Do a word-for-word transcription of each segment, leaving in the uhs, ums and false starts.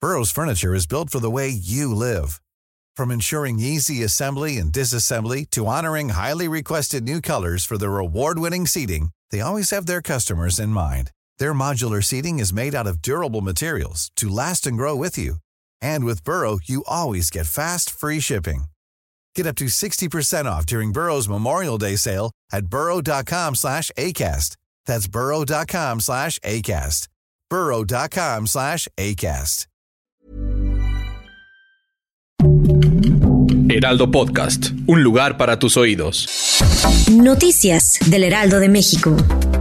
Burrow's furniture is built for the way you live. From ensuring easy assembly and disassembly to honoring highly requested new colors for their award-winning seating, they always have their customers in mind. Their modular seating is made out of durable materials to last and grow with you. And with Burrow, you always get fast, free shipping. Get up to sixty percent off during Burrow's Memorial Day sale at burrow.com slash ACAST. That's burrow.com slash ACAST. burrow.com slash ACAST. Heraldo Podcast, un lugar para tus oídos. Noticias del Heraldo de México.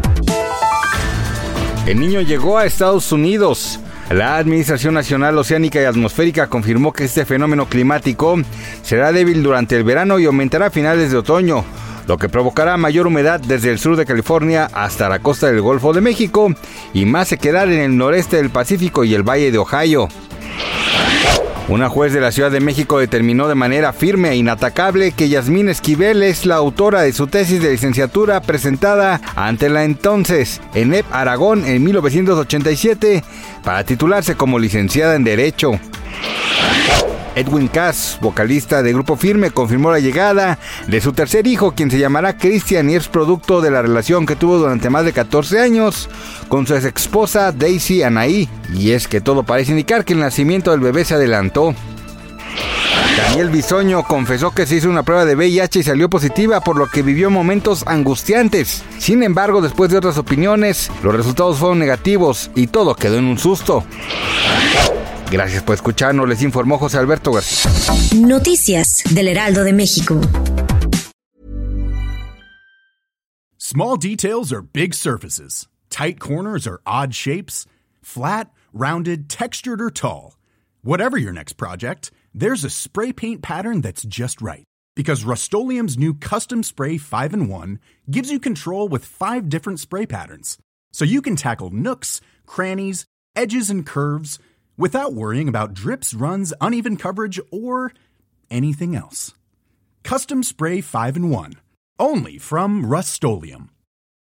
El Niño llegó a Estados Unidos. La Administración Nacional Oceánica y Atmosférica confirmó que este fenómeno climático será débil durante el verano y aumentará a finales de otoño, lo que provocará mayor humedad desde el sur de California hasta la costa del Golfo de México y más sequedad en el noreste del Pacífico y el Valle de Ohio. Una juez de la Ciudad de México determinó de manera firme e inatacable que Yasmín Esquivel es la autora de su tesis de licenciatura presentada ante la entonces ENEP Aragón en mil novecientos ochenta y siete para titularse como licenciada en Derecho. Edwin Cass, vocalista de Grupo Firme, confirmó la llegada de su tercer hijo, quien se llamará Cristian y es producto de la relación que tuvo durante más de catorce años con su ex esposa Daisy Anaí. Y es que todo parece indicar que el nacimiento del bebé se adelantó. Daniel Bisoño confesó que se hizo una prueba de V I H y salió positiva, por lo que vivió momentos angustiantes. Sin embargo, después de otras opiniones, los resultados fueron negativos y todo quedó en un susto. Gracias por escucharnos, les informó José Alberto García. Noticias del Heraldo de México. Small details are big surfaces. Tight corners are odd shapes. Flat, rounded, textured, or tall. Whatever your next project, there's a spray paint pattern that's just right. Because Rust-Oleum's new Custom Spray five in one gives you control with five different spray patterns. So you can tackle nooks, crannies, edges, and curves without worrying about drips, runs, uneven coverage, or anything else. Custom Spray five in one. Only from Rust-Oleum.